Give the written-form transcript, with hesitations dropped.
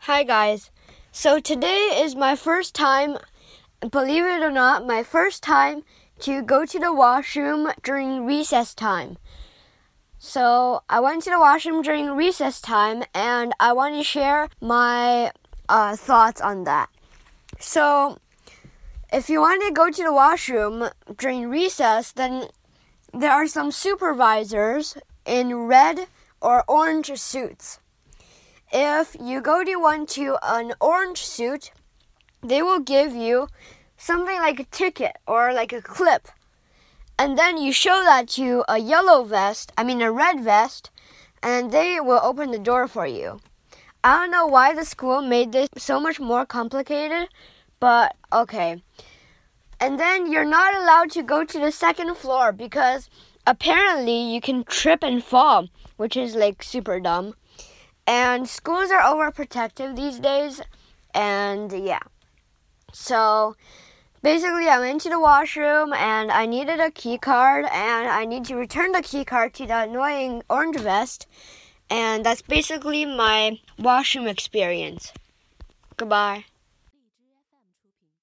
Hi guys. So today is my first time, believe it or not, my first time to go to the washroom during recess time. So I went to the washroom during recess time and I want to share my thoughts on that. So if you want to go to the washroom during recess, then there are some supervisors in red or orange suits. If you go to an orange suit, they will give you something like a ticket or like a clip. And then you show that to a red vest, and they will open the door for you. I don't know why the school made this so much more complicated, but okay. And then you're not allowed to go to the second floor because apparently you can trip and fall, which is like super dumb. And schools are overprotective these days, and yeah. So basically I went to the washroom and I needed a key card and I need to return the key card to the annoying orange vest. And that's basically my washroom experience. Goodbye.